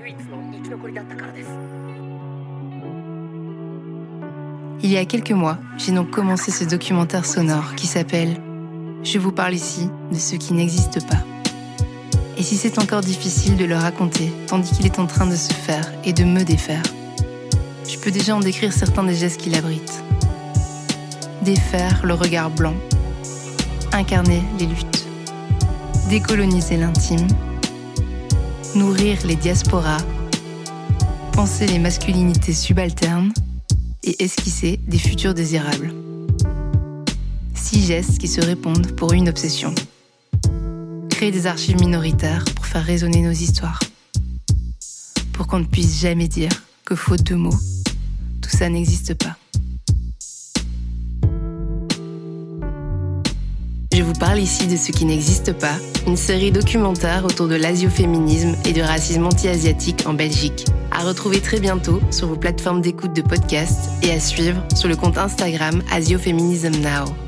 Il y a quelques mois, j'ai donc commencé ce documentaire sonore qui s'appelle « Je vous parle ici de ce qui n'existe pas ». Et si c'est encore difficile de le raconter, tandis qu'il est en train de se faire et de me défaire, je peux déjà en décrire certains des gestes qu'il abrite. Défaire le regard blanc, incarner les luttes, décoloniser l'intime, nourrir les diasporas, penser les masculinités subalternes et esquisser des futurs désirables. 6 gestes qui se répondent pour une obsession. Créer des archives minoritaires pour faire résonner nos histoires. Pour qu'on ne puisse jamais dire que faute de mots, tout ça n'existe pas. Je vous parle ici de ce qui n'existe pas, une série documentaire autour de l'asioféminisme et du racisme anti-asiatique en Belgique. À retrouver très bientôt sur vos plateformes d'écoute de podcasts et à suivre sur le compte Instagram Asiofeminism Now.